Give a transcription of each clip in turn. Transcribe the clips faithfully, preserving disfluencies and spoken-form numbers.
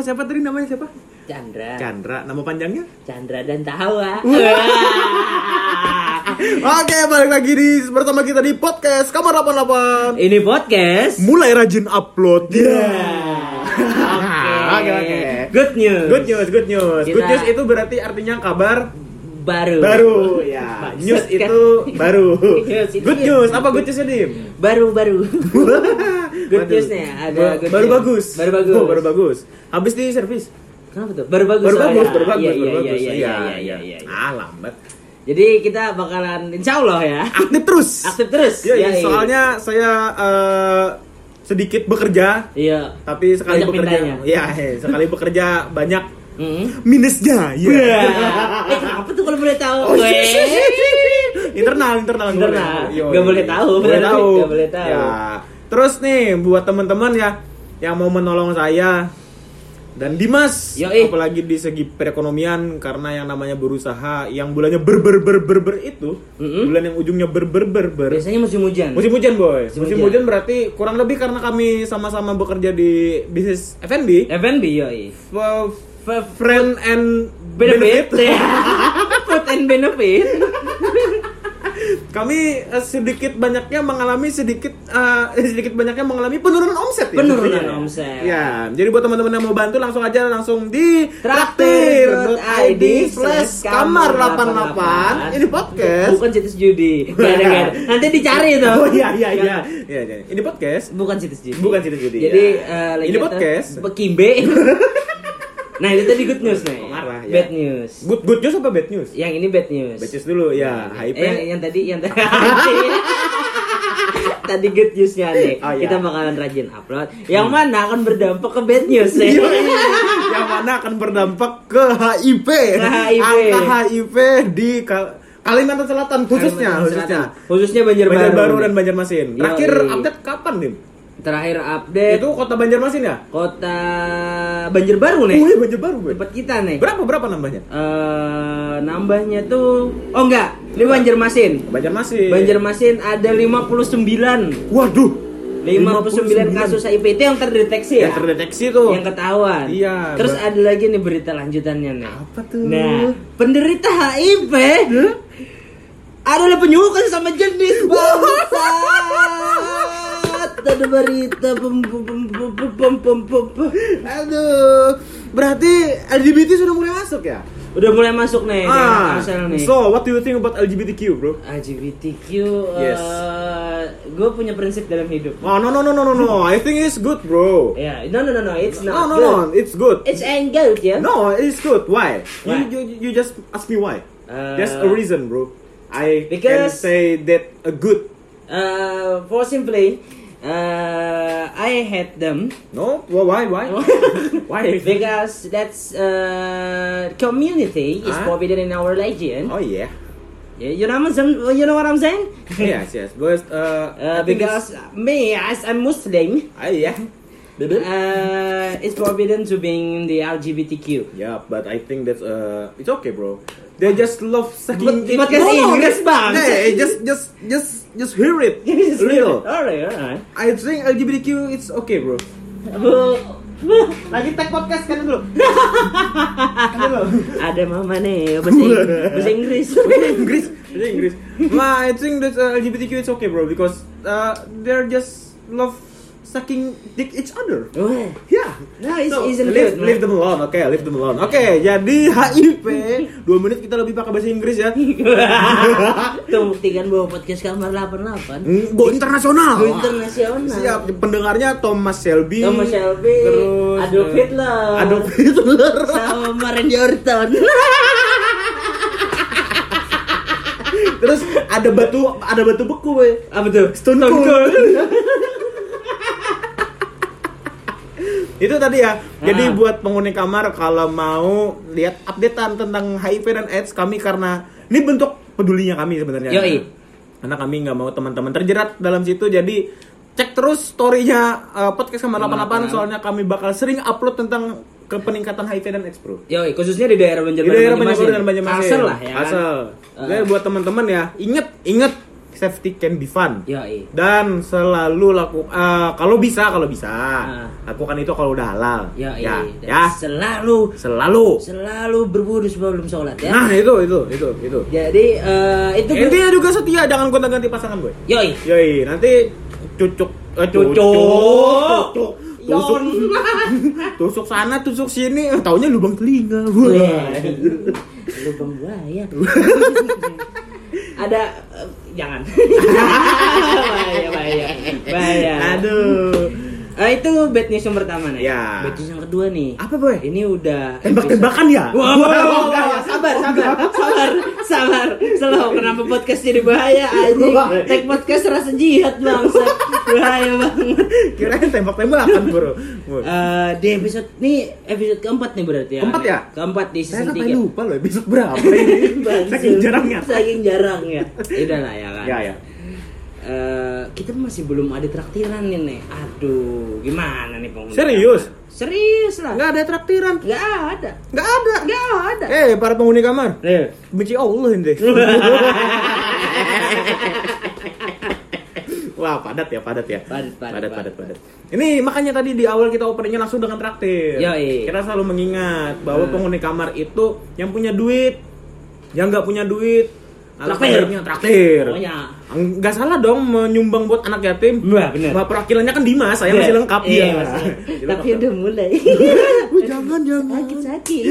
siapa tadi namanya siapa? Chandra. Chandra, nama panjangnya? Chandra dan Tawa. Oke, balik lagi di bersama kita di podcast Kamar delapan puluh delapan. Ini podcast mulai rajin upload. Ya. Yeah. Oke, oke. Good news. Good news, good news. Kita... Good news itu berarti artinya kabar baru. Baru, ya. News itu baru. Good news, apa good newsnya, Dim? Baru-baru. Good newsnya ada good baru news. bagus. Baru bagus. Oh, baru bagus. Habis di servis. Kenapa tuh? Baru bagus. Baru bagus, ya. baru bagus, iya, baru iya, bagus. Iya, iya, iya, iya, iya. Ah, lambat. Jadi kita bakalan insya Allah ya aktif terus. Aktif terus. Ya, ya, iya. Soalnya saya uh, sedikit bekerja. Iya. Tapi sekali banyak bekerja. mintanya. Ya, sekali bekerja banyak mm-hmm. minusnya. Ya. Yeah. Eh, apa tuh kalau boleh tahu? Oh, internal, internal, internal. Gak boleh tahu. Boleh tahu. Gak boleh tahu. Ya. Terus nih buat teman-teman ya yang mau menolong saya dan Dimas, Yoi. apalagi di segi perekonomian, karena yang namanya berusaha yang bulannya ber ber ber ber, ber itu, mm-hmm. bulan yang ujungnya ber ber ber ber. Biasanya musim hujan. Musim hujan, boy. Musim, musim hujan. hujan berarti kurang lebih karena kami sama-sama bekerja di bisnis F and B. F and B, yoi. F- f- friend and benefit. benefit. Food and benefit. Kami uh, sedikit banyaknya mengalami sedikit uh, sedikit banyaknya mengalami penurunan omset ya. Penurunan ya. omset. Ya, jadi buat teman-teman yang mau bantu langsung aja langsung di traktir dot i d slash kamar delapan puluh delapan. Ini podcast. Bukan situs judi. Gara-gara nanti dicari tuh. Oh iya iya iya. Iya, iya. Ini podcast. Bukan situs judi. Bukan situs judi. Jadi ya. uh, ini podcast. Kimbe. Nah, itu tadi good news nih. Marah, ya. Bad news. Good good news apa bad news? Yang ini bad news. Bad news dulu ya. H I P. Eh, yang, yang tadi yang tadi tadi good newsnya nih. Oh, iya. Kita bakalan rajin upload. Yang hmm. mana akan berdampak ke bad news nih. Yang mana akan berdampak ke H I P. Ke H I P. Angka H I P di Kal- Kalimantan Selatan khususnya, Kalimantan khususnya. Selatan. Khususnya Banjarbaru. Banjarbaru dan Banjarmasin. Terakhir Yoi. update kapan, Dim? Terakhir update Itu kota Banjarmasin ya? Kota Banjarbaru nih. Oh iya, Banjarbaru, gue. Tempat kita nih. Berapa berapa nambahnya? Uh, nambahnya tuh oh enggak, ini Banjarmasin. Banjarmasin. Banjarmasin ada lima puluh sembilan. Waduh. lima puluh sembilan kasus H I P itu yang terdeteksi ya? Yang terdeteksi tuh. Yang ketahuan. Iya. Terus ber- ada lagi nih berita lanjutannya nih. Apa tuh? Nah, penderita H I V huh? adalah penyuka sesama jenis bangsat. Ada berita pem pem pem pem pem pem pem. Aduh. Berarti L G B T sudah mulai masuk ya? Udah mulai masuk nih ah, asal nih. So, what do you think about L G B T Q, bro? L G B T Q Yes. uh, gue punya prinsip dalam hidup. Oh, no no no no no no. I think it's good, bro. Yeah, no no no no, it's No not no good. no, it's good. It's ain't good, ya. No, it's good. Why? Why? You, you you just ask me why. Uh, There's a reason, bro. I can because- say that a good. Uh, for simply, uh, I hate them. No, well, why why why? Because that's uh, community is Huh? forbidden in our religion. Oh yeah. Yeah, you know what I'm saying? You know what I'm saying? Yes yes. Because uh, Uh, I think because me as a Muslim, it's- ah yeah. uh, it's forbidden to being the L G B T Q. Yeah, but I think that's uh, it's okay, bro. They just love sucking. But- it. podcast Inggris, Bang. Hey, just just just just hear it. Real. Alright, alright. I think L G B T Q it's okay, bro. Lagi tag podcast kan dulu. Kan dulu. Ada mama nih bahasa Inggris. Bahasa Inggris. Bahasa Inggris. Bahasa Inggris. Ma, I think that uh, L G B T Q it's okay, bro, because uh, they're just love sucking dick each other. Wah. Yeah. No, it's, So, isn't leave, good. leave them alone, oke, okay, leave them alone. Oke, okay, jadi H I P dua menit kita lebih pakai bahasa Inggris ya. Tuh buktikan bahwa podcast Kamar delapan puluh delapan Go internasional. Go internasional. Siap, pendengarnya Thomas Shelby. Thomas Shelby, terus Adolf Hitler, Adolf Hitler, sama Randy Orton. terus ada batu, ada batu beku, we. Apa tuh? Stone Cold. Itu tadi ya. Jadi Ah. buat penghuni kamar kalau mau lihat updatean tentang H I V dan AIDS kami, karena ini bentuk pedulinya kami sebenarnya. Yoi. Karena kami nggak mau teman-teman terjerat dalam situ, jadi cek terus story-nya uh, podcast Kamar delapan puluh delapan, soalnya kami bakal sering upload tentang ke peningkatan H I V dan AIDS, bro. Yoi, khususnya di daerah Banjarbaru. Di daerah Banjarbaru dan Banjarmasin. Asal lah ya kan. Asal. Uh. Jadi buat teman-teman ya, inget, inget safety can be fun. Yoi. Dan selalu laku uh, kalau bisa kalau bisa Ah. lakukan itu kalau udah halal. Yoi. Ya, Dan ya. Selalu Selalu. selalu berwudu sebelum sholat ya. Nah, itu itu itu itu. Jadi eh, itu ber- Intinya juga setia, jangan gonta-ganti pasangan gue. Yoi. Yoi, nanti cucuk eh, Cucuk. Tusuk. Tusuk. Yon. Tusuk sana, tusuk sini, eh, taunya lubang telinga. Wah. Lubang buaya. Ada eh, jangan. bahaya bahaya. Bahaya. Aduh. Eh, itu bad news yang pertama nih. Ya. Bad news yang kedua nih. Apa, Boy? Ini udah Tembak-tembakan ya? Wah, Wah, wah, enggak ya? sabar, sabar, sabar, sabar. Slow, kenapa podcast jadi bahaya anjing? Tag podcast rasa jihad bangsa. Bahaya banget. Kirain tembak-tembakan, Bro. Eh, di episode nih episode keempat nih berarti ya. Keempat ya? Keempat di Saya season sampai tiga. lupa loh episode berapa ini. Saking jarangnya. Saking jarangnya. Udah lah ya kan. Ya, ya. Eh, kita masih belum ada traktiran nih nih. Aduh, gimana nih penghuni? Serius? Serius lah. Nggak ada traktiran. Nggak ada. Nggak ada. Nggak ada. Eh, para penghuni kamar. Eh. Benci Allah ente. Wah, padat ya, padat ya. Padat, padat, padat, padat. padat. Ini makanya tadi di awal kita openingnya langsung dengan traktir. Yoi. Kita selalu mengingat bahwa Hmm. penghuni kamar itu yang punya duit, yang nggak punya duit, Traktir. alhamdulillahnya traktir. Pokoknya. Nggak salah dong menyumbang buat anak yatim. Wah, bener. Wah, perwakilannya kan Dimas, saya Iya. masih lengkap Iya, dia. masih. Jadi Tapi lengkap. udah mulai. Wih, jangan jangan. Sakit-sakit.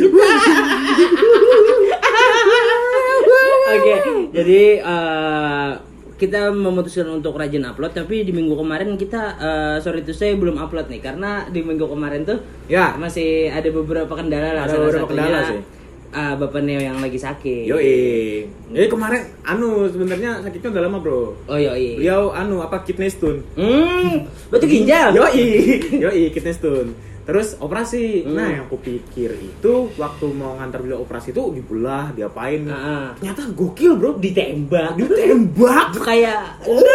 Oke, jadi eh, kita memutuskan untuk rajin upload, tapi di minggu kemarin kita eh, sorry to say belum upload nih karena di minggu kemarin tuh Ya. masih ada beberapa kendala lah. Ada Salah beberapa satunya, kendala sih. eh, Bapak Neo yang lagi sakit. Yoi. Jadi kemarin anu sebenarnya sakitnya udah lama, Bro. Oh yoi. Beliau anu apa kidney stone. Hmm, batu ginjal. Yoi, yoi kidney stone. Terus operasi. Hmm. Nah, yang aku pikir itu waktu mau ngantar beliau operasi itu dibelah, diapain. Ah. Ternyata gokil, Bro. Ditembak. Ditembak. Kayak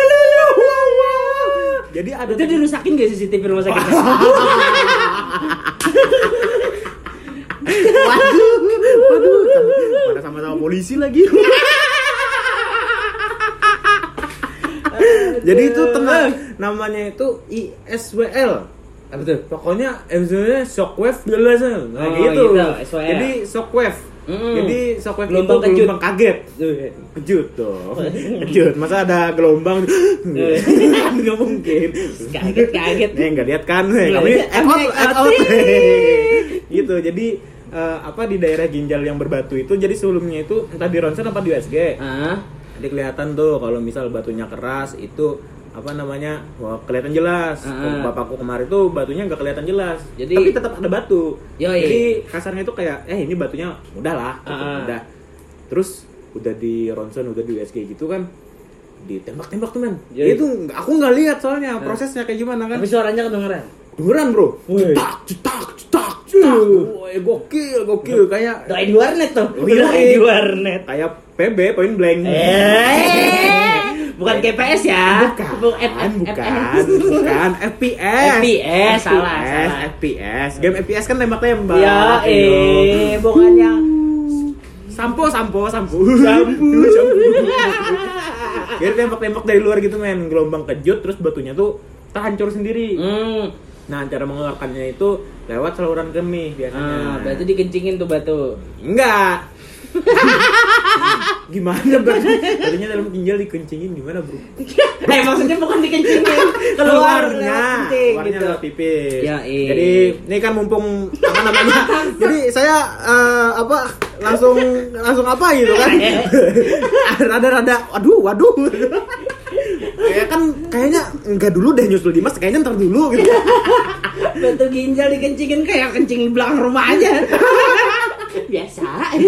Jadi ada itu dirusakin gak C C T V rumah sakitnya? Waduh, waduh, mana sama-sama polisi lagi. Jadi itu tenang, namanya itu I S W L. Apa tuh? Pokoknya maksudnya shockwave jelas nah Oh, gitu. gitu, S W L. Jadi shockwave. Mm-mm. Jadi shockwave Gelombang itu kejut. gelombang kaget. Kejut dong. Kejut. Masa ada gelombang? Nggak mungkin. Kaget-kaget. Nih nggak lihat kan? Nih, Nggak kami lihat. act out, Kami act act out. out. Gitu. Jadi eh, apa di daerah ginjal yang berbatu itu, jadi sebelumnya itu entah di ronsen apa di U S G. Ah, Jadi kelihatan tuh kalau misal batunya keras itu apa namanya, wah kelihatan jelas. Ah. Kalau bapakku kemarin tuh batunya nggak kelihatan jelas. Jadi- tapi tetap ada batu. Yoi. Jadi kasarnya itu kayak eh ini batunya udah lah, Ah. udah. Terus udah di ronsen, udah di U S G gitu kan, ditembak-tembak tuh men. Yoi. Itu nggak- aku nggak lihat soalnya prosesnya kayak gimana kan. tapi suaranya kedengeran. Dengeran bro, Woi. cetak, cetak, cetak, cetak. Woi, gokil, gokil kayak Doain di warnet tuh. Oh, iya. Doain di warnet. kayak P B point blank. Eh, bukan K P S ya. Bukan, Bu- F- bukan, F- bukan, bukan, F P S. F P S, salah, salah. F P S. Game F P S kan tembak-tembak. Ya, eh, bukan yang Sampo, sampo, sampo. Sampo, sampo. Jadi tembak-tembak dari luar gitu men, gelombang kejut terus batunya tuh terhancur sendiri. Hmm. Nah, cara mengeluarkannya itu lewat saluran kemih biasanya. Ah, berarti dikencingin tuh batu. Enggak. Gimana berarti? Batunya dalam ginjal dikencingin gimana, Bro? Eh, maksudnya bukan dikencingin, keluar keluarnya lewat kencing keluarnya gitu. lewat pipis. Ya, iya. Jadi ini kan mumpung apa namanya? Jadi saya eh, apa langsung langsung apa gitu kan? Rada-rada waduh, waduh. Kayak kan kayaknya enggak dulu deh nyusul Dimas, kayaknya ntar dulu gitu. Batu ginjal dikencingin kayak kencing di belakang rumah aja. Biasa.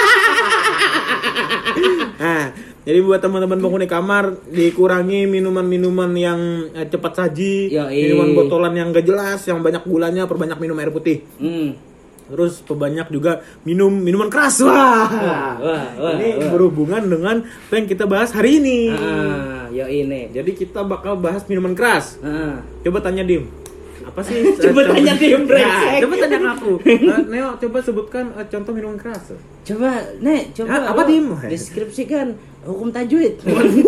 Nah, jadi buat teman-teman penghuni kamar dikurangi minuman-minuman yang eh, cepat saji, Yoi. minuman botolan yang gak jelas, yang banyak gulanya, perbanyak minum air putih. Hmm. Terus perbanyak juga minum minuman keras. Wah. wah, wah, ini wah. berhubungan dengan apa yang kita bahas hari ini. Ah, yo ini. Jadi kita bakal bahas minuman keras. Ah. Coba tanya Dim. Apa sih? Coba tanya dia, brengsek. Coba tanya aku. Uh, Neo, coba sebutkan uh, contoh minuman keras. Coba, Nek, coba. Ah, apa, lo Dim? deskripsikan hukum tajwid.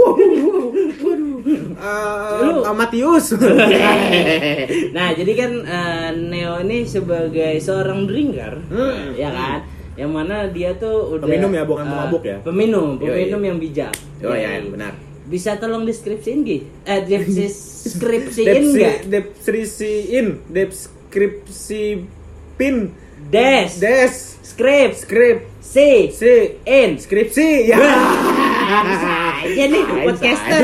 Uh, Amatius. Nah, jadi kan uh, Neo ini sebagai seorang drinker, Hmm. ya kan? Yang mana dia tuh udah Peminum ya, bukan uh, pemabuk ya? Peminum, Yo, peminum iya. yang bijak. Oh Ya. ya, benar. Bisa tolong deskripsiin Gi? Eh, deskripsiin Depsi, enggak? deskripsiin, deskripsipin, Des, des, skrip, skrip, si, si, in. skripsi, ya. Bisa aja nih Bisa podcaster.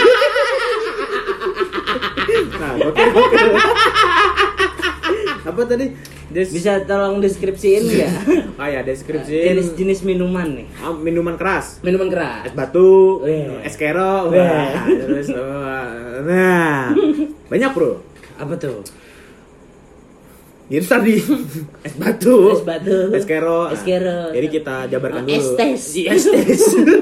Nah, oke, oke. Apa tadi? Des, Bisa tolong deskripsiin enggak? oh ya, deskripsiin Jenis-jenis minuman nih. ah, minuman keras. Minuman keras. Es batu, Weh. es kero, Weh. wah, terus wah, nah, banyak bro. Apa tuh? Itu tadi es batu, Es batu, es kero. es kero. Jadi kita jabarkan Oh, dulu. es tes. Es tes.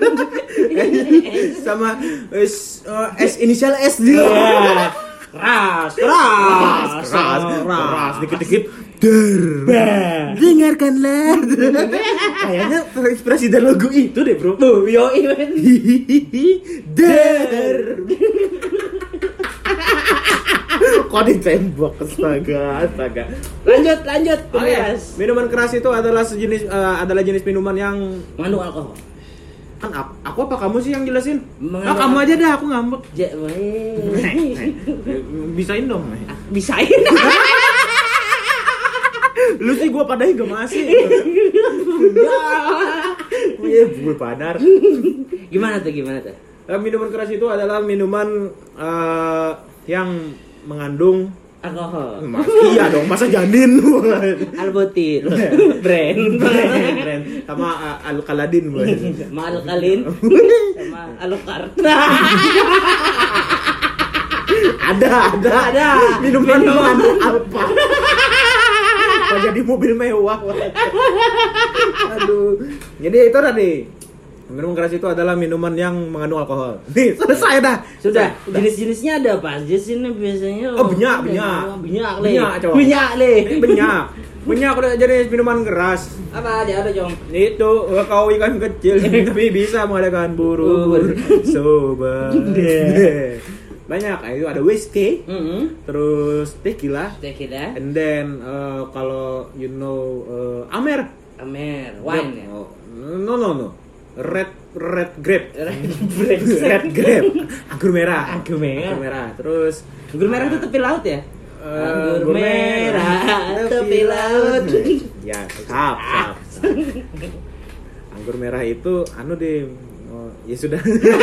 Sama es uh, es inisial S dia. Ya. Keras, keras, keras, keras, dikit-dikit. Der. Dengarkanlah. Kayaknya terinspirasi dari lagu itu deh, bro. Tuh, yo event. Der. Kok ditembak, astaga, astaga. Lanjut, lanjut. Oh, ya. Keras. Minuman keras itu adalah sejenis uh, adalah jenis minuman yang Mengandung alkohol. kan aku, aku apa kamu sih yang jelasin? Mengandung Ah, kamu aja dah, aku ngambek. Ja- weh. Bisain dong. Bisain. Lu sih gua padahin gak masih. Iya, gue padar. Gimana tuh, gimana tuh? Eh, minuman keras itu adalah minuman eh, yang mengandung Alkohol. Mas, iya dong, masa janin. Albutil. Brand. Brand sama uh, alkaladin, boy. Sama alkalin. Sama alukar. Ada, ada, Ada. Minuman Minuman. mengandung apa? Kok jadi mobil mewah? Aduh. Jadi itu tadi. Minuman keras itu adalah minuman yang mengandung alkohol. Nih, selesai dah. Sudah, jenis-jenisnya ada apa aja sih nih biasanya? Oh, benyak, benyak. Benyak, le. Benyak, coba. Benyak, le. Benyak. Benyak udah jenis minuman keras. Apa ada, ada, Jong? Itu kau ikan kecil tapi bisa mengadakan buru sobat. Banyak, itu ada whiskey, Mm-hmm. terus tequila, Tequila, and then uh, kalau you know uh, Amer, Amer, wine ya. Oh, no no no, red red grape, Red red grape, anggur merah, Anggur merah. anggur merah, terus Anggur merah itu tepi laut ya? uh, Anggur merah, tepi laut. Ya, sap, sap, sap. Anggur merah itu anu deh, oh, ya sudah.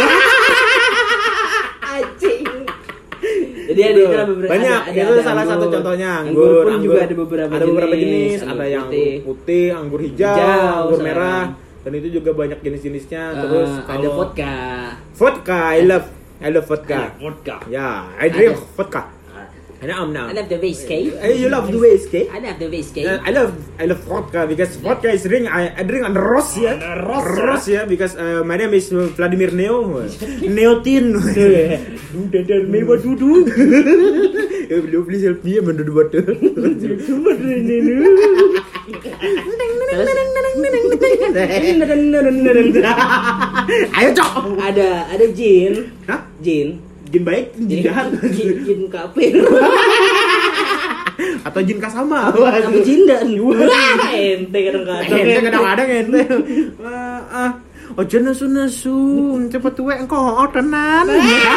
Anjing. Jadi ada itu beberapa banyak, ada, itu ada salah anggur. satu contohnya Anggur anggur, pun juga ada beberapa ada beberapa jenis, jenis, ada anggur yang putih. anggur putih, anggur hijau, Hijau, anggur sama. merah, dan itu juga banyak jenis-jenisnya. Eh, Terus ada kalau vodka. vodka, I love, I love vodka. Ada vodka. Ya, I drink Ada. vodka. Ada am now. I love the whiskey. Eh, you love the whiskey? I love the whiskey. Uh, I love I love vodka because vodka is drink I, I drink on Russia. Russia because uh, my name is Vladimir Neo. Neotin. Udah dan mewah duduk. Eh belum beli selfie sama duduk batu. Ayo cok. Ada ada jin. Hah? Jin. Jin baik, jin jahat. Jin, jin kafir. Atau jin kasama. Apa jindan? Ente kadang-kadang. Ente kadang-kadang ente. Wah, ah. Ojo nesu-nesu, cepet tuwek engko tenan.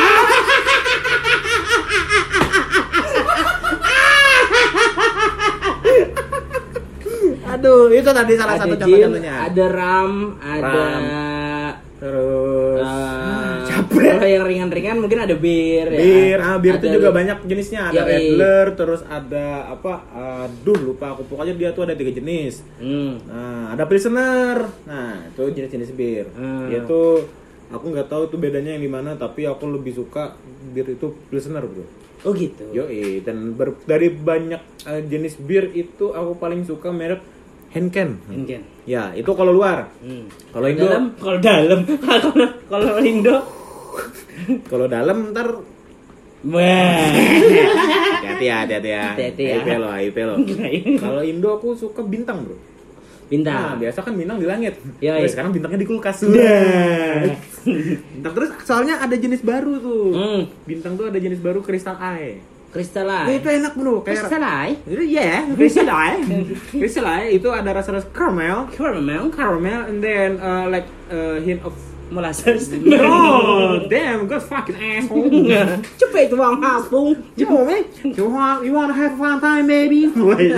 Aduh, itu tadi salah Ada satu jin, contoh-contohnya. ada ram, ada Terus uh, capek. kalau yang ringan-ringan mungkin ada bir, Bir, ya. ah, bir itu Ada- juga banyak jenisnya. Ada Yoi. Radler, terus ada apa? Aduh, lupa aku. Pokoknya dia tuh ada tiga jenis. Hmm. Nah, ada Pilsener. Nah, itu jenis-jenis bir. Hmm. Itu aku nggak tahu tuh bedanya yang di mana, tapi aku lebih suka bir itu Pilsener, Bro. Oh gitu. Yoi, dan ber- dari banyak eh, jenis bir itu aku paling suka merek Henken. Mungkin. Ya, itu kalau luar. Hmm. Kalau Indo, dalam, kalau dalam, kalau kalau Indo, kalau dalam ntar wah. ya Hati-hati ya, hati-hati ya. Hati-hati ya. I P lo, I P lo. Kalau Indo aku suka bintang, Bro. Bintang. Nah, biasa kan bintang di langit. Yoi. Nah, sekarang bintangnya di kulkas. Nah. Bintang terus soalnya ada jenis baru tuh. Hmm. Bintang tuh ada jenis baru Crystal Eye. Crystal Nah, Eye. itu enak, Bro. Kayak Crystal Eye. itu ya, Crystal Eye. Crystal Eye itu ada rasa-rasa caramel, Caramel. caramel and then uh, like a hint of Molasses. no, damn, good fucking asshole. Cepet itu bang hapung. You know, man. You want, you want to have a fun time, baby?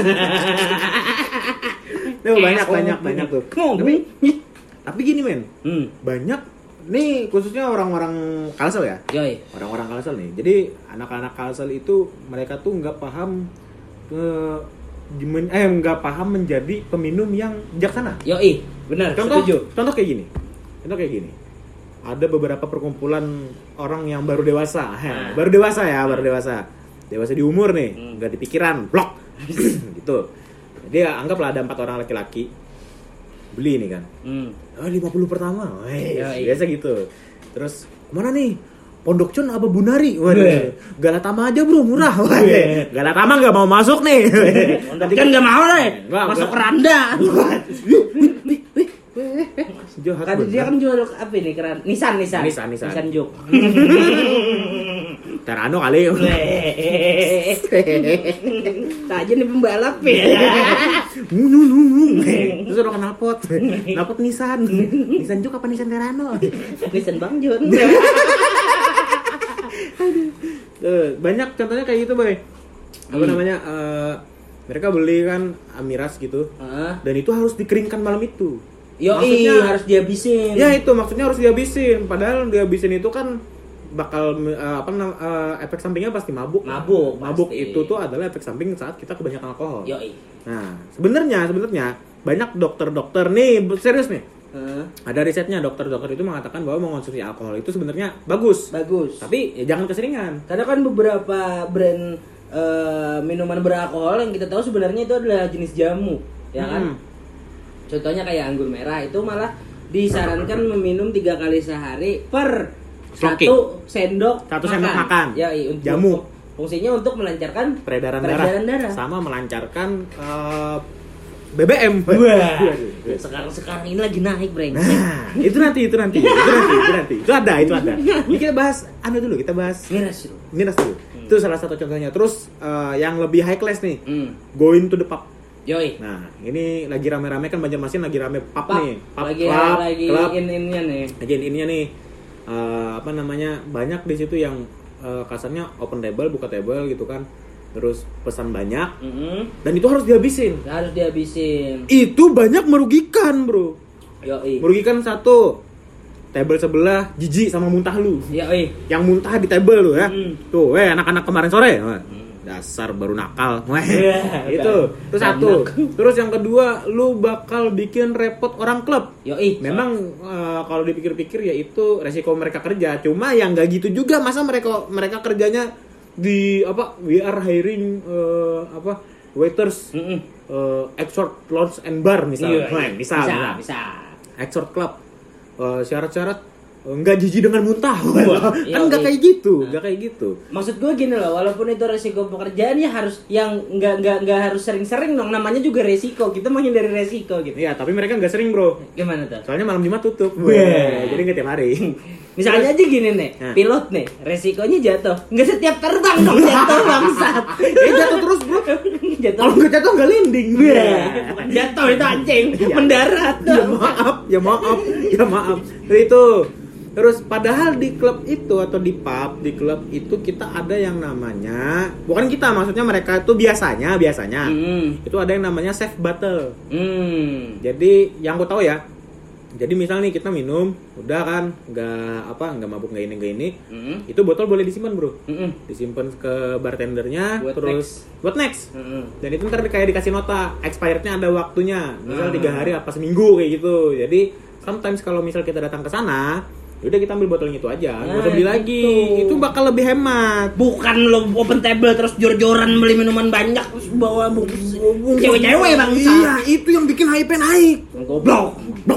Tuh banyak banyak banyak tuh. Tapi tapi gini men, Hmm. banyak nih khususnya orang-orang Kalsel ya. Yoi. Orang-orang Kalsel nih. Jadi anak-anak Kalsel itu mereka tuh nggak paham ke eh nggak paham menjadi peminum yang bijaksana. Yoi. Benar. Contoh, Setuju. contoh kayak gini. Contoh kayak gini. Ada beberapa perkumpulan orang yang baru dewasa, Ah. baru dewasa ya, baru dewasa, dewasa di umur nih, Hmm. nggak di pikiran, blok, gitu. Jadi ya, anggaplah ada empat orang laki-laki beli nih kan, Hmm. oh, lima puluh pertama, Weh, Ya, iya. biasa gitu. Terus kemana nih? Pondok Con apa Bunari? Weh. Waduh, Galatama aja bro, murah. Weh. Weh. Galatama nggak mau masuk nih. Tadi kan nggak mau deh. Nggak, Masuk nggak. keranda. Jahat Kan banget. dia kan jual apa ini keran? Nisan, Nisan. Nissan, Nissan. Nisan Juk. Terano kali. Tak aja nih pembalap ya. Terus ada knalpot. Knalpot Nissan. Nissan Juk apa Nissan Terano? Nisan Bang Jun. Tuh, banyak contohnya kayak gitu, Boy. Apa Hmm. namanya? eh, mereka beli kan Amiras gitu. Heeh. Dan itu harus dikeringkan malam itu. Yo, Maksudnya- harus dihabisin. Ya itu maksudnya harus dihabisin. Padahal dihabisin itu kan bakal eh, apa nam- eh, efek sampingnya pasti mabuk. Mabuk, Mabuk pasti. itu tuh adalah efek samping saat kita kebanyakan alkohol. Yo. Nah, sebenarnya sebenarnya banyak dokter-dokter nih, serius nih. Heeh. Ada risetnya, dokter-dokter itu mengatakan bahwa mengonsumsi alkohol itu sebenarnya bagus. Bagus. Tapi ya jangan keseringan. Karena kan beberapa brand eh, minuman beralkohol yang kita tahu sebenarnya itu adalah jenis jamu, ya kan? Hmm. Contohnya kayak anggur merah itu malah disarankan meminum tiga kali sehari per Sloki. satu sendok Satu sendok makan. Ya, iya, untuk, Jamu. Fungsinya untuk melancarkan Peredaran, peredaran darah. darah. Sama melancarkan eh, B B M. Sekarang sekarang ini lagi naik, Breng. Nah, itu nanti, itu nanti, itu nanti, itu nanti. Itu ada, itu ada. Ini kita bahas anu dulu, kita bahas Miras itu. miras dulu. Itu salah satu contohnya. Terus eh, yang lebih high class nih, Hmm. going to the pub. Yoi. Nah, ini lagi rame-rame kan Banjarmasin lagi rame pub, Pub. nih. Pub, lagi club, lagi club. in innya nih. Lagi ininya nih. eh, apa namanya? Banyak di situ yang eh, kasarnya open table, buka table gitu kan. Terus pesan banyak Mm-mm. dan itu harus dihabisin. Harus dihabisin. Itu banyak merugikan, Bro. Yoi. Merugikan satu. Table sebelah jijik sama muntah lu. Yoi. Yang muntah di table lu ya. Mm. Tuh, eh anak-anak kemarin sore. Wah, dasar baru nakal. Wah, Yeah, itu. Terus satu. anak. Terus yang kedua, lu bakal bikin repot orang klub. Yoi. Memang eh, kalau dipikir-pikir ya itu resiko mereka kerja. Cuma yang nggak gitu juga, masa mereka mereka kerjanya di apa? We are hiring eh, apa? Waiters Mm-mm. eh, Exort Lounge and Bar misalnya. Iya, Nah, iya. misal, bisa, misal. bisa. Exort Club. Eh, syarat-syarat eh, nggak jijik dengan muntah. Wah, kan iya, nggak iya. kayak gitu, nggak kayak gitu. Maksud gue gini loh, walaupun itu resiko pekerjaan ya harus yang nggak nggak nggak harus sering-sering dong. Namanya juga resiko. Kita menghindari resiko gitu. Iya, tapi mereka nggak sering, Bro. Gimana tuh? Soalnya malam Jumat tutup. Wah. Wah, jadi nggak tiap hari. Misalnya aja gini nih, Nah. pilot nih, resikonya jatuh. Nggak setiap terbang dong jatuh bangsat. Eh, jatuh terus, Bro. Jatuh. Kalau nggak jatuh nggak landing. Wah, bukan jatuh itu anjing, Iya. mendarat Ya dong. maaf, ya maaf, ya maaf. Jadi itu. Terus padahal di klub itu atau di pub, di klub itu kita ada yang namanya, bukan kita, maksudnya mereka itu biasanya, biasanya Hmm. itu ada yang namanya safe battle. Hmm. Jadi yang aku tahu ya, jadi misal nih kita minum, udah kan, nggak apa, nggak mabuk, nggak ini, nggak ini, Hmm. itu botol boleh disimpan, Bro. Hmm. Disimpan ke bartendernya, Buat terus buat next. Hmm. Dan itu ntar kayak dikasih nota, expirednya ada waktunya, misal Hmm. tiga hari apa seminggu kayak gitu. Jadi sometimes kalau misal kita datang ke sana, udah kita ambil botolnya itu aja, nggak Nah, usah beli lagi. gitu. Itu bakal lebih hemat. Bukan lo open table terus jor-joran beli minuman banyak terus bawa bungkus cewek-cewek bang. Iya, itu yang bikin H I P naik. Goblok. Goblok.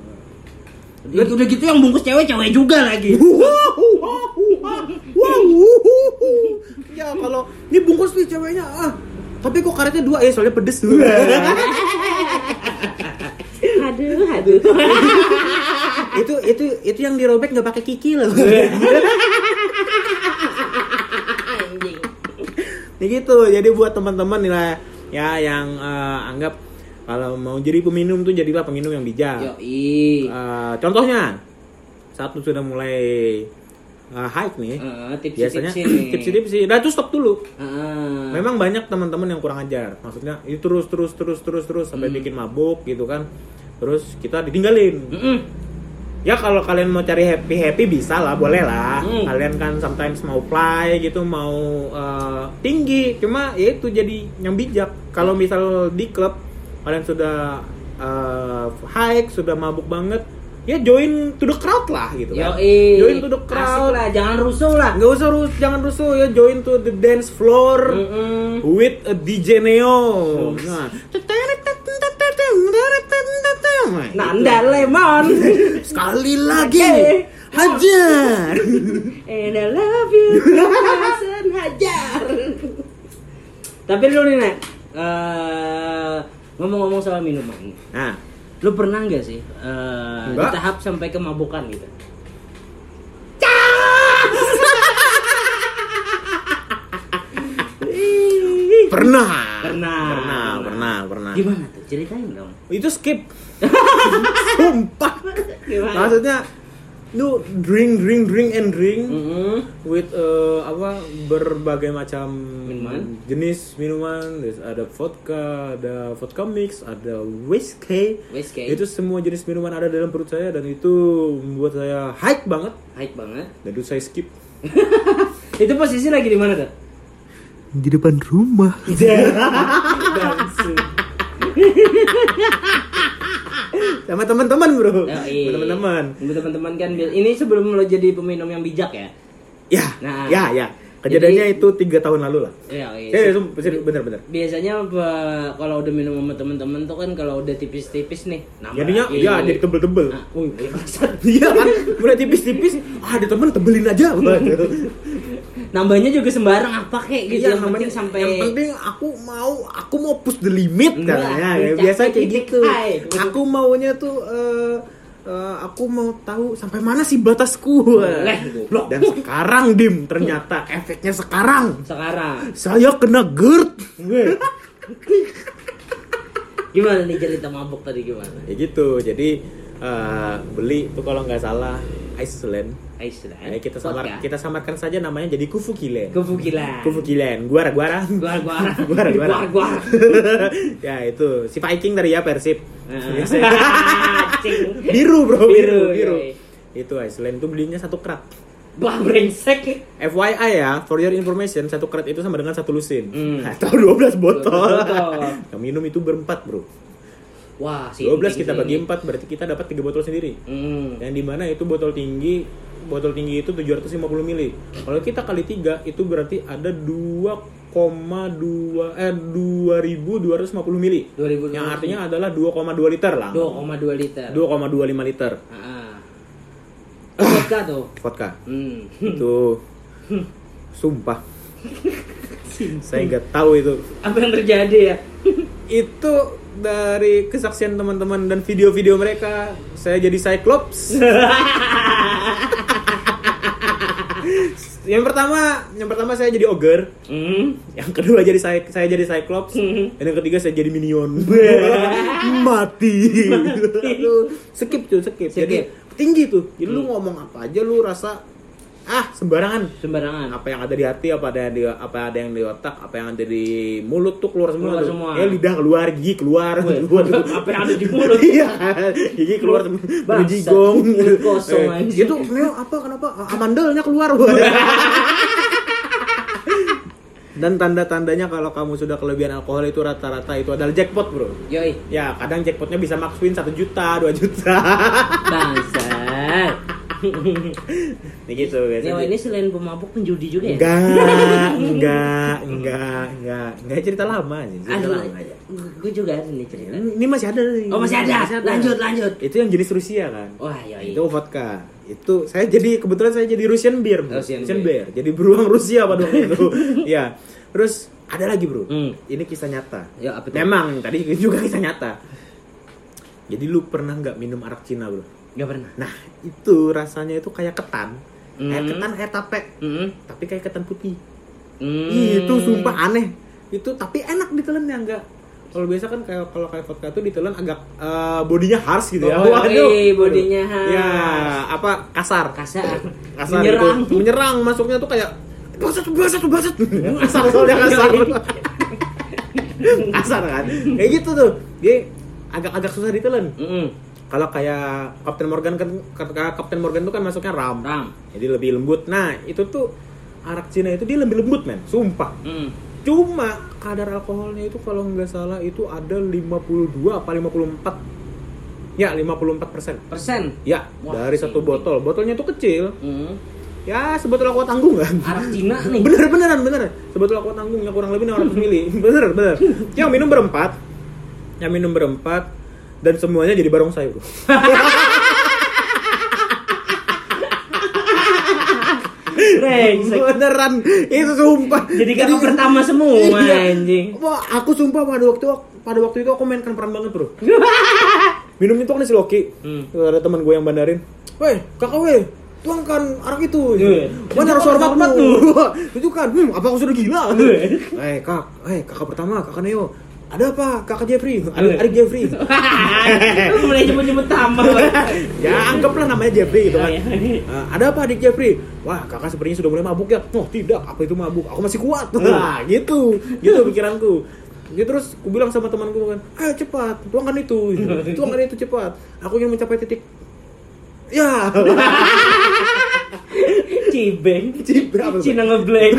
Udah, udah gitu yang bungkus cewek-cewek juga lagi. Wow, wow, wow, wow. Ya kalau kalau ini bungkus nih ceweknya ah tapi kok karetnya dua ya soalnya pedes tuh. Aduh, aduh. itu itu itu yang dirobek nggak pakai kiki loh. Nih gitu. Jadi buat teman-teman nih lah ya yang uh, anggap kalau mau jadi peminum tuh jadilah peminum yang bijak. Yoi. Uh, contohnya saat lu sudah mulai uh, hike nih, uh, tipsi, biasanya tipsi tipsi-tipsi, dah tuh stop dulu. Uh. Memang banyak teman-teman yang kurang ajar, maksudnya itu terus terus terus terus terus sampai hmm. bikin mabuk gitu kan, terus kita ditinggalin. Mm-mm. Ya kalau kalian mau cari happy happy bisa lah, boleh lah. Mm. Kalian kan sometimes mau fly gitu, mau uh, tinggi, cuma ya itu jadi yang bijak. Kalau misal di klub kalian sudah uh, hike, sudah mabuk banget, ya join to the crowd lah gitu kan. Yoi. Join to the crowd. Asik lah, jangan rusuh lah. Nggak usah rus, jangan rusuh ya, join to the dance floor Mm-mm. with a D J Neo. Nah, Nanda Lemon. sekali lagi Okay. hajar. And I love you, Hasan Hajar. Tapi lu nih Nek, uh, ngomong-ngomong soal minuman, Nah, lu pernah nggak sih uh, di Enggak. tahap sampai kemabukan gitu? pernah. Pernah. Pernah, pernah, pernah. Gimana tuh? Ceritain dong. Itu skip. Sumpah. Gimana? Maksudnya lu drink drink drink and drink Mm-hmm. with uh, apa berbagai macam Minuman. jenis minuman. There's ada vodka, ada vodka mix, ada whiskey. Whiskey. Itu semua jenis minuman ada dalam perut saya dan itu membuat saya hype banget. Hype banget. Dan itu saya skip Itu posisi lagi di mana tuh? di depan rumah. Sama teman-teman bro. Oh, iya. Teman-teman. Teman-teman kan ini sebelum lo jadi peminum yang bijak ya. Ya, Nah. ya, ya. Kejadiannya Jadi- itu tiga tahun lalu lah. Iya, iya. Eh, itu bener-bener. Biasanya apa, kalau udah minum sama teman-teman tuh kan kalau udah tipis-tipis nih, nambah Jadinya, lagi. ya jadi tebel-tebel. Nah, wih, wih, maksud. Iya kan, mulai tipis-tipis. Ah, ada temen tebelin aja. Nambahnya juga sembarang apa kek gitu, Iya, yang penting sampai yang penting aku mau aku mau push the limit Enggak, katanya. Ya, mencapai biasa kayak titik gitu. high. Aku maunya tuh eh, eh, aku mau tahu sampai mana sih batasku. Boleh, goblok. Dan sekarang Dim, ternyata efeknya sekarang sekarang. saya kena GERD. Gimana nih cerita mabuk tadi gimana? Ya gitu. Jadi eh, beli tuh kalau nggak salah Iceland. Iceland. Ya, kita samar Vodka. kita samarkan saja namanya jadi Kufukilen. Kefukilan. Kufukilen. Guara guara. Guar guar. Guara guara. Guar guar. Ya itu si Viking dari ya Persib. Cing. Biru bro, biru, Biru, biru. iya. Itu Iceland itu belinya satu krat. Wah, brengsek. F Y I ya, for your information, satu krat itu sama dengan satu lusin. Hmm. Atau dua belas botol. dua belas botol. Yang minum itu berempat bro. Wah, sih. dua belas kita bagi empat berarti kita dapat tiga botol sendiri. Hmm. Yang dimana itu botol tinggi, botol tinggi itu tujuh ratus lima puluh mili. Kalau kita kali tiga itu berarti ada dua koma dua eh dua ribu dua ratus lima puluh mili. dua ribu Yang artinya adalah dua koma dua liter lah. dua koma dua liter. dua koma dua lima liter. Heeh. Vodka tuh. Vodka. Hmm. Itu sumpah. Saya nggak tahu itu. Apa yang terjadi ya? Itu dari kesaksian teman-teman dan video-video mereka, saya jadi Cyclops. Yang pertama, yang pertama saya jadi ogre. Hmm. Yang kedua jadi saya saya jadi Cyclops. Hmm. Dan yang ketiga saya jadi minion. Mati. Aduh, skip tuh, skip. Skip. Jadi tinggi tuh. Jadi lu ngomong apa aja lu rasa ah sembarangan. Sembarangan. Apa yang ada di hati, apa ada yang di apa ada yang di otak, apa yang ada di mulut tuh keluar semua. Keluar tuh. semua. Ya lidah keluar, gigi keluar, Weh, keluar. apa yang ada di mulut? Iya, gigi keluar Bangsat, jigong. mulut kosong Eh, anjing. Itu Neo apa kenapa amandelnya keluar. Dan tanda-tandanya kalau kamu sudah kelebihan alkohol itu rata-rata itu adalah jackpot, bro. Yoi. Ya, kadang jackpotnya bisa max win satu juta, dua juta. Bangsat. Nih gitu guys. Nyawa ini selain pemabuk penjudi juga ya? Enggak, enggak, enggak, enggak, enggak cerita lama sih. Cerita Aduh, lama aja. gue juga ada nih cerita. Ini masih ada nih. Oh masih ada. Lanjut, lanjut. Itu yang jenis Rusia kan? Wah, iya. Itu vodka. Itu saya jadi kebetulan saya jadi Russian beer, bro. Russian Russian beer. beer. Jadi beruang Rusia pada waktu itu. Iya. Terus ada lagi, bro. Hmm. Ini kisah nyata. Ya, apa tuh? Memang tadi juga kisah nyata. Jadi lu pernah nggak minum arak Cina, bro? Gak pernah. Nah, itu rasanya itu kayak ketan. Hmm. Kayak ketan kayak tape. Mm-hmm. Tapi kayak ketan putih. Hmm. Itu sumpah aneh. Itu tapi enak ditelannya enggak. Kalau biasa kan kayak kalau kayak vodka tuh ditelan agak uh, bodinya harsh gitu ya. Oh, iya, bodinya harsh. Ya, apa kasar. Kasar. Kasar Menyerang. Itu. Menyerang masuknya tuh kayak basat basat basat. Kasar soalnya kasar. Kasar kan. Kayak gitu tuh. Dia agak-agak susah ditelan. Mm-hmm. Kalau kayak Captain Morgan kan Captain Morgan tuh kan masuknya ram. Ram. Jadi lebih lembut. Nah, itu tuh arak Cina itu dia lebih lembut, men. Sumpah. Mm. Cuma kadar alkoholnya itu kalau nggak salah itu ada lima puluh dua apa lima puluh empat. Ya, lima puluh empat persen. Persen? Ya, Wah, dari satu botol. Botolnya tuh kecil. Mm. Ya, sebotol aqua tanggung kan. Arak Cina nih. Bener beneran bener. Sebotol aqua tanggungnya kurang lebih enam ratus mili. Bener bener. Yang minum berempat. Yang minum berempat dan semuanya jadi barongsai, bro. Beneran, itu sumpah. Jadi kakak pertama semua, iya. Anjing. Wah, aku sumpah pada waktu pada waktu itu aku mainkan peran banget, bro. Minum itu kan si Loki. Hmm. Ada teman gue yang bandarin. Weh, kakak weh, tuangkan arak itu. Mana harus hormat tuh. Tunjukkan, hmm, apa aku sudah gila? Eh, kak, eh kakak pertama, kakak Neo. Ada apa, kakak Jeffrey? Adik, adik Jeffrey. Lu mulai nyebut-nyebut nama. Ya, anggaplah namanya Jeffrey gitu kan. Uh, ada apa adik Jeffrey? Wah, kakak sepertinya sudah mulai mabuk ya. Oh, tidak, apa itu mabuk? Aku masih kuat. Nah, gitu. Gitu pikiranku. Gitu terus aku bilang sama temanku kan, "Ayo cepat, tuangkan itu. Tuangkan itu cepat. Aku ingin mencapai titik." Ya. Cibeng. Cibeng apa? Cina ngebleng.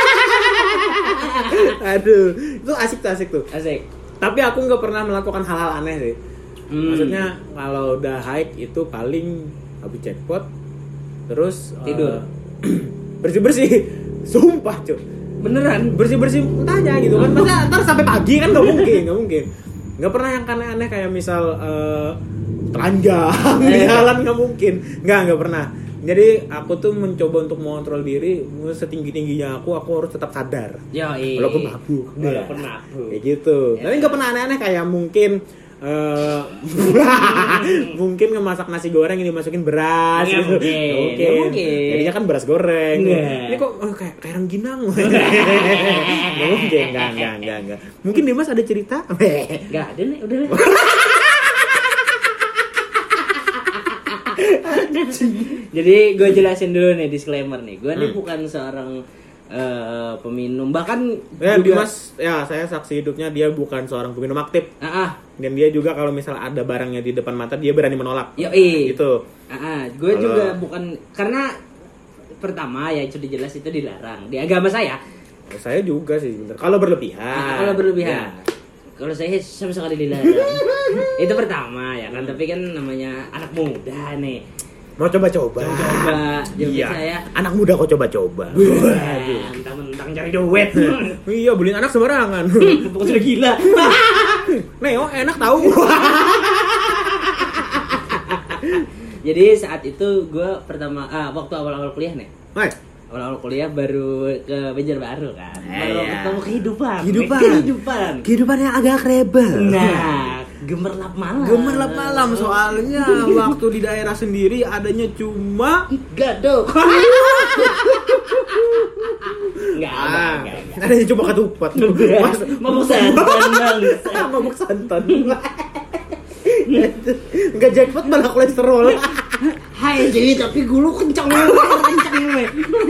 Aduh, itu asik tuh, asik tuh. Asik. Tapi aku nggak pernah melakukan hal-hal aneh sih. Hmm. Maksudnya kalau udah hike itu paling habis jackpot, terus tidur, uh, bersih-bersih. Sumpah cuy. Beneran bersih-bersih entahnya gitu kan. Masa ntar sampai pagi kan nggak mungkin, nggak mungkin. Nggak pernah yang aneh-aneh kayak misal uh, telanjang di jalan, nggak mungkin. Nggak, nggak pernah. Jadi aku tuh mencoba untuk mengontrol diri, setinggi tingginya aku, aku harus tetap sadar. Ya, iya. Walaupun mabuk, walaupun mabuk. Kayak gitu. Ya. Tapi nggak pernah aneh-aneh kayak mungkin, uh, mungkin ngemasak nasi goreng ini masukin beras. Nggak gitu. mungkin. Oke. Mungkin. Jadinya kan beras goreng. Nggak. Ini kok oh, kayak kayak rengginang. Nggak mungkin, nggak, nggak, nggak, nggak. Mungkin Dimas ada cerita? Nggak ada nih, udah. Jadi gue jelasin dulu nih, disclaimer nih. Gue hmm. nih bukan seorang uh, peminum, bahkan ya, juga... Dimas, ya saya saksi hidupnya dia bukan seorang peminum aktif. Ah, dan dia juga kalau misal ada barangnya di depan mata dia berani menolak. Yoi. Gitu. Ah, gue kalau... juga bukan, karena pertama ya sudah jelas itu dilarang di agama saya. Saya juga sih, bener. Kalau berlebihan. Nah, kalau berlebihan. Ya. Kalau saya sama sekali dilarang. Itu pertama ya kan, hmm. tapi kan namanya anak muda nih. Mau coba-coba. Coba, iya. Saya. Anak muda kok coba-coba. Mentang-mentang cari duit. Iya, beliin anak sembarangan. Pokoknya sudah gila. Neo enak tahu. Jadi saat itu gue pertama, ah, waktu awal-awal kuliah nih. Hai. Awal-awal kuliah baru ke Banjarbaru kan. Baru iya. ketemu kehidupan. Kehidupan. Kehidupan. Kehidupan yang agak rebel. Nah, gemerlap malam. Gemerlap malam soalnya waktu di daerah sendiri adanya cuma gadok. Enggak ada, ah, enggak, enggak. Adanya cuma ketupat. Mabuk santan, Bang. Mabuk santan. Enggak jackpot malah kolesterol. Hai, jadi tapi gulu kencang banget, kencang banget.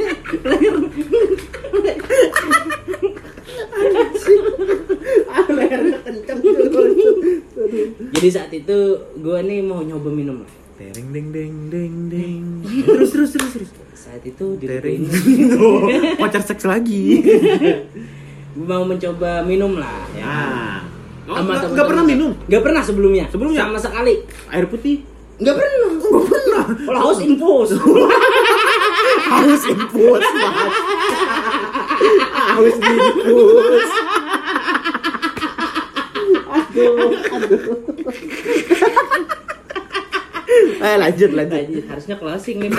Leher kencang banget. Jadi saat itu gue nih mau nyoba minum. Deng deng deng deng deng. Terus terus terus terus. Saat itu di oh, pacar seks lagi. Gue mau mencoba minum lah ya. Ah. Oh, Sama enggak pernah minum? Enggak pernah sebelumnya. Sebelumnya sama sekali. Air putih? Enggak pernah. Enggak pernah. Kalau haus infus. Haus infus, Mas. Haus infus. Aduh, aduh. Eh lanjut, lanjut. Lanjut. Harusnya closing nih.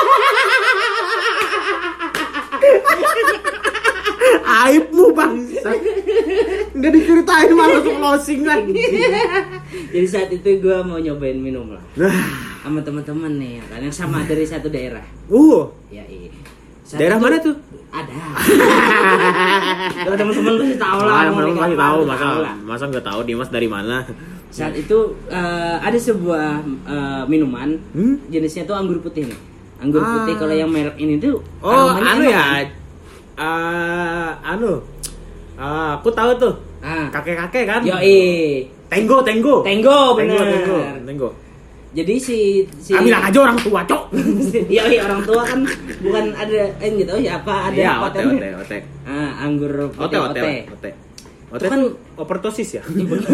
Aibmu bangsa. Enggak diceritain malah closing lagi. Jadi saat itu gue mau nyobain minum lah. Nah, sama teman-teman nih, kan yang sama dari satu daerah. uh. Ya iya. Daerah mana tuh? Ada. Kalau teman-teman pasti tahu lah. Ah, teman-teman pasti tahu, tahu masa lah. masa enggak tahu Dimas dari mana. Saat itu uh, ada sebuah uh, minuman, Hmm? jenisnya tuh anggur putih nih. Anggur Ah. putih kalau yang merek ini tuh Oh, aromanya anu enak, ya. kan? Ah, anu. Ah, aku tahu tuh. Ah. Kakek-kakek kan? Yoi. Tenggo, tenggo. Tenggo, bener. Tenggo, tenggo. Jadi si si Ah, bilang aja orang tua, Cok. Iya, iya, orang tua kan bukan ada eh enggak tahu siapa ada Iya, apa ote, tadi. ote, ote. Ah, anggur Ote, putih ote, ote. ote. Ote Itu kan- kan overdosis ya?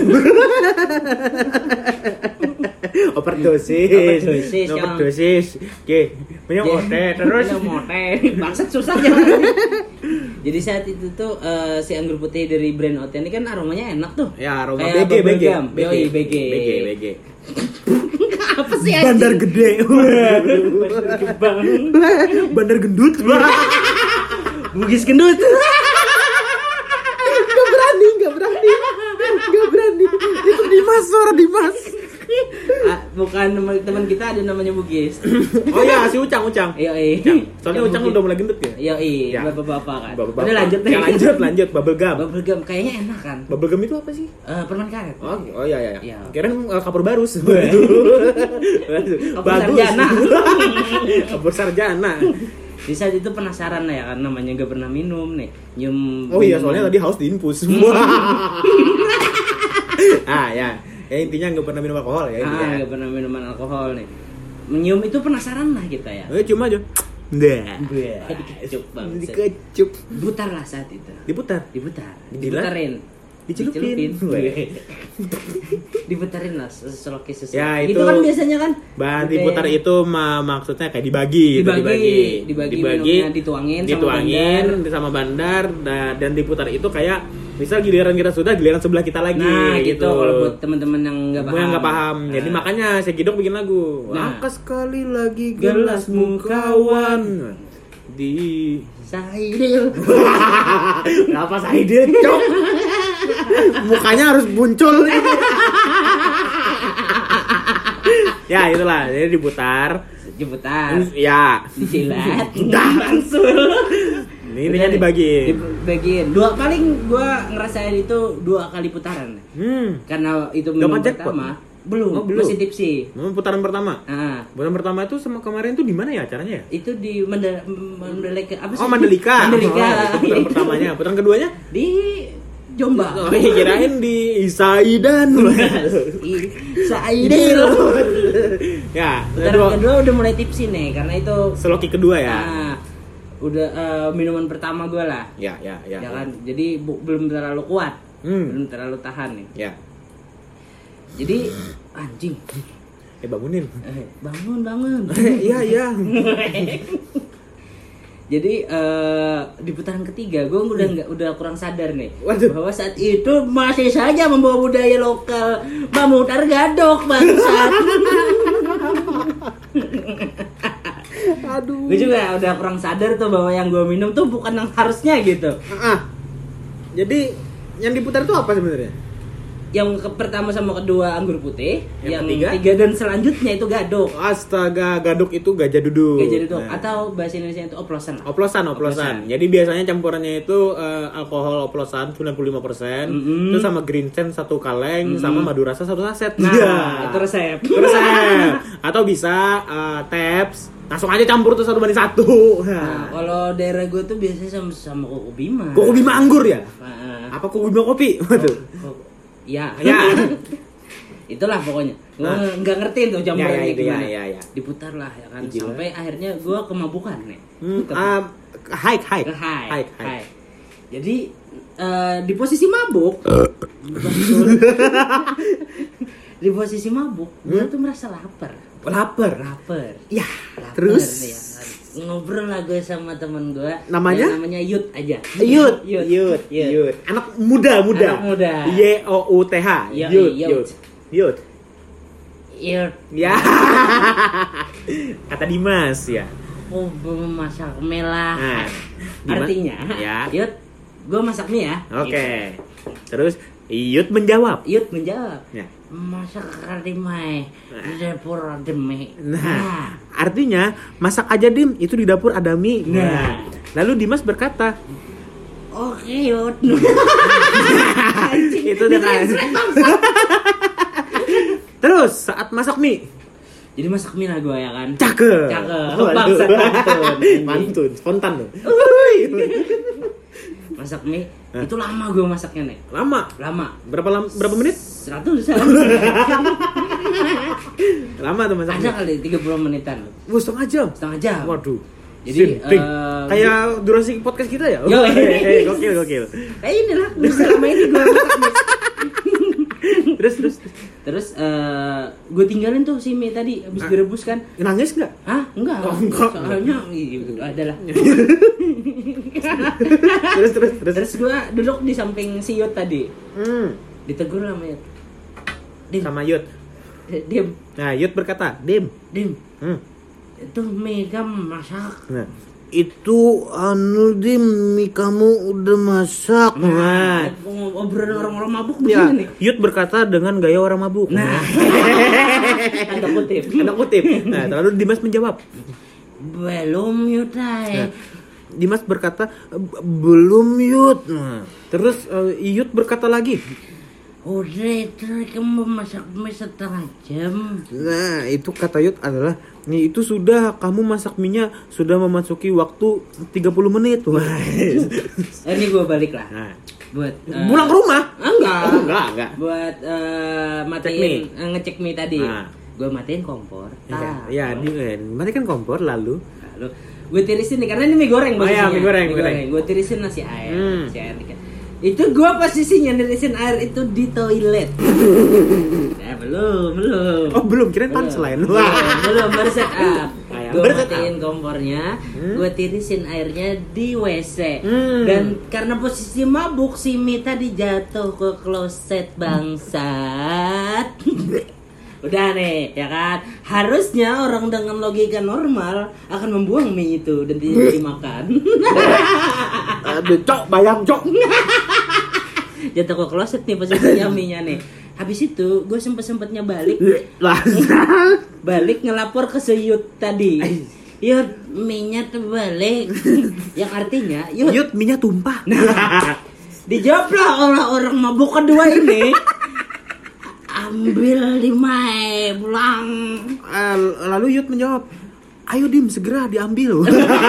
Overdosis. Overdosis, yang- Overdosis. Oke, minum ote terus. minum ote. Bangsat susah jalan. Jadi saat itu tuh eh, si anggur putih dari brand Ote ini kan aromanya enak tuh. Ya, aroma Kayak B G, B G. bubble gum. Yoi, B G. B G, B G. Apa sih anjing? Bandar gede. Bandar gebang. Bandar gendut. Bugis gendut. Gak berani, gak berani. Gak berani. Itu Dimas, suara Dimas. Ah, bukan teman kita ada namanya Bugis. Oh iya, si Ucang, Ucang. Yoi. Soalnya Ucang udah mulai gendut ya. Yoi, Ya. bapak-bapak kan. Bapak-bapak. Udah lanjut nih. Ya, lanjut, lanjut. Bubble gum. Bubble gum kayaknya enak kan. Bubble gum itu apa sih? Eh, permen karet. Oh, oh iya iya. Iya. iya. Kirain uh, kapur barus. Kapur sarjana. Kapur sarjana. Di saat itu penasaran lah ya kan, namanya gak pernah minum nih. Nyium. Oh iya, minuman. soalnya tadi haus diinfus. Ah ya. Ya intinya nggak pernah minum alkohol ya Ah, intinya. gak pernah minuman alkohol nih. Menyium itu penasaran lah kita ya. Eh cuma aja. Nah. Wah, dikecup banget. Dikecup. Putar lah saat itu. Diputar. Diputar. Dibilang? Diputarin. Dicelupin. Dicelupin. Diputarin lah seselokis seselokis. Ya, itu itu kan biasanya kan. Bahan Oke. diputar itu ma- maksudnya kayak dibagi, gitu, Dibagi, dibagi, minumnya dituangin sama dituangin sama bandar da- dan diputar itu kayak misal giliran kita sudah, giliran sebelah kita lagi. Nah, gitu kalau buat teman-teman yang nggak paham. Yang nggak paham. Jadi Nah. makanya saya Gidok bikin lagu. Nah. Angkat sekali lagi Gelasmu, gelasmu kawan di Saidil. Kenapa Saidil, Cok? Mukanya harus muncul. Ya, itulah. Jadi diputar. Diputar. Ya. Disilat. Udah. Mansul. Ini intinya dibagi. Dibagiin. Dua paling gua ngerasain itu dua kali putaran. Hmm. Karena itu minum Dapat jackpot? pertama. Belum, Oh, belum. masih tipsi. Mau putaran pertama. Ah, Putaran pertama itu sama kemarin tuh di mana ya acaranya ya? itu di Mandal- Mandalika apa sih? Oh, Mandalika. Mandalika. Oh, itu putaran pertamanya. Putaran keduanya? Di Jombang. Oh, kirain di Isaidan. Saidil. Ya, Putaran kedua, kedua udah mulai tipsi nih karena itu seloki kedua ya. ah, udah eh, minuman pertama gue lah. Ya, ya, ya. Ya kan? Jadi bu- belum terlalu kuat. Hmm. Belum terlalu tahan nih. Ya. Jadi anjing. Eh bangunin. Eh, bangun, bangun. Iya, iya. Jadi eh, di putaran ketiga gue udah nggak udah kurang sadar nih. Waduh. Bahwa saat itu masih saja membawa budaya lokal memutar gadok bangsat. Aduh. Gue juga udah kurang sadar tuh bahwa yang gue minum tuh bukan yang harusnya gitu. Ah. Jadi yang diputar itu apa sebenarnya? Yang ke pertama sama kedua anggur putih, Yang yang, ketiga? tiga dan selanjutnya itu gadok. Astaga, gaduk itu gajah duduk. Gajah duduk Nah. atau bahasa Indonesia itu oplosan. lah. Oplosan, oplosan. Jadi biasanya campurannya itu eh, alkohol oplosan sembilan puluh lima persen, Mm-mm. terus sama green sand satu kaleng, sama madu rasa satu saset. Nah, Iya. itu resep. Itu resep. Atau bisa eh, taps, langsung aja campur tuh satu banding satu. Nah, Nah. kalau daerah gue tuh biasanya sama sama Koko Bima. Koko Bima anggur ya? Nah, Apa Koko Bima kopi? Waduh. Koko- ya, Ya. Itulah pokoknya. Gue Nah. nggak ngerti tuh campurannya Ya, ya, itu, ya, gimana. ya, ya. Diputar lah ya kan. Gila. Sampai akhirnya gue kemabukan nih. Hmm, ah, hike, hike. Hai, Hike, hike. hai. Jadi eh, di posisi mabuk, di posisi mabuk, gue Hmm? tuh merasa lapar. Lapar. Lapar. Ya, Lapar, terus ya. Ngobrol lah gue sama temen gue. Namanya? Ya, namanya Yud aja. Yud, Yud, Yud, Yud. Yud. Anak muda, muda. Anak muda. Y O U T H. Yo, Yud, Yud. Yud. Yud. Yud. Ya. Kata Dimas ya. Oh, masak mie lah. Nah, Dimas- Artinya, ya. Yud, gue masak mie ya. Oke. Terus Yud menjawab. Yud menjawab. Ya. Masak karimai di dapur ada mie. Nah, artinya masak aja Dim, itu di dapur ada mie. Nah. Lalu Dimas berkata, Oke Yud. itu dengan Terus saat masak mie, Jadi masak mie lah gue ya kan. cakep. Cakep. Waduh. Bangsa pantun. Mantun, spontan loh. Masak mie Hah? itu lama gue masaknya nih. Lama. Lama. Berapa lama? Berapa menit? Seratus Lama tuh masak Ada mie. kali tiga puluh menitan. Wah, setengah jam. Setengah jam. Waduh. Jadi, Sinting. eh, kayak durasi podcast kita ya? Yo, Oh, eh, eh, gokil, gokil. Kayak inilah selama ini gue masak mie. Terus, terus. Terus uh, gue tinggalin tuh si mie tadi habis Ah. direbus kan. Nangis nggak? Hah? Enggak. Oh, enggak. Soalnya gitu adalah. Terus, terus, terus. Terus gue duduk di samping si Yud tadi. Hmm. Ditegur sama Yud. Dim, Sama Yud. Dim, Nah, Yud berkata, Dim. Dim. Hmm. Itu mie kamu masak. Nah, itu anu Dim, mie kamu udah masak. Nah, Obrolan orang-orang mabuk ya, begini nih. Yud berkata dengan gaya orang mabuk. Nah. Tanda kutip. Tanda kutip. Nah, lalu Dimas menjawab. Belum Yud ay. Nah, Dimas berkata, "B- belum Yud." Nah, terus uh, Yud berkata lagi. Udah itu kamu masak mie setengah jam. Nah, itu kata Yud adalah, nih itu sudah kamu masak minyak sudah memasuki waktu tiga puluh menit. Wah. Ini gue balik lah. Nah, Buat eh, pulang ke rumah? Ah, enggak. Oh, enggak, enggak. Buat eh, Cek matiin mie. eh, ngecek mie tadi. Nah. Gue matiin kompor. Ya, Tak. ya, di eh, matikan kompor lalu. Lalu gue tirisin nih karena ini mie goreng Oh, iya, posisinya. mie goreng, mie goreng. Gue tirisin nasi air, Hmm. nasi air dikit. Itu gue posisinya nirisin air itu di toilet. Ya belum, belum. Oh, belum, kirain punchline. Belum, belum baru set up. Ah, ya, Gue baru set matiin kompornya, Hmm. gue tirisin airnya di W C. Hmm. Dan karena posisi mabuk si mie tadi jatuh ke kloset bangsat. Udah nih, ya kan? Harusnya orang dengan logika normal akan membuang mie itu dan tidak dimakan. Aduh, cok, bayang cok. Jatuh ke kloset nih posisinya mie-nya nih. Habis itu gue sempet-sempetnya balik Lah. balik ngelapor ke si Yud tadi. Yud, mie-nya terbalik. Yang artinya Yud, Yud, minyak tumpah. dijawablah orang-orang mabuk kedua ini. Ambil di mae pulang. Eh, lalu Yud menjawab, ayo Dim, segera diambil.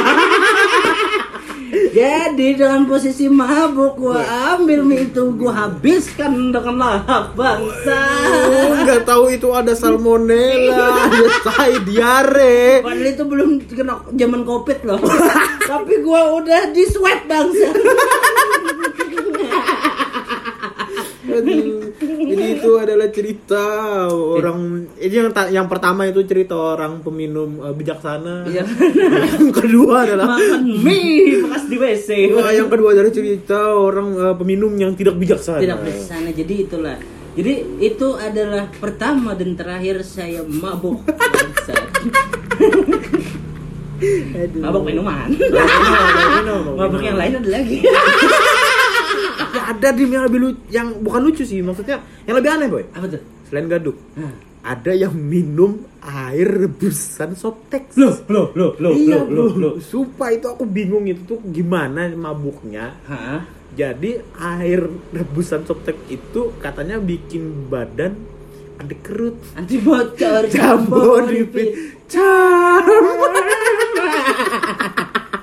Jadi dengan posisi mabuk gua ambil mie itu gua habiskan dengan lahap bangsa. Oh, nggak tahu itu ada salmonella, ada tai diare. Padahal itu belum kena zaman covid loh. Tapi gua udah di swab bangsa. Aduh. Jadi itu adalah cerita orang ini yang ta- yang pertama itu cerita orang peminum uh, bijaksana. Iya. Yang kedua adalah Makan mie bekas di W C. Wah, yang kedua adalah cerita orang uh, peminum yang tidak bijaksana. Tidak bersana. Jadi itulah. Jadi itu adalah pertama dan terakhir saya mabuk bangsa. Aduh. Mabuk minuman. Minum, minum, Mabuk minum. yang lain ada lagi. Tapi ada Dim yang lebih lucu, yang bukan lucu sih, maksudnya yang lebih aneh boy. Apa tuh? Selain gaduk, Nah. ada yang minum air rebusan Softex. Loh, loh, loh, loh, Iya loh, loh, loh. Sumpah itu aku bingung itu tuh gimana mabuknya. Hah? Jadi air rebusan Softex itu katanya bikin badan anti kerut. Anti bocor, Jambon di dipit. pit. Jambon.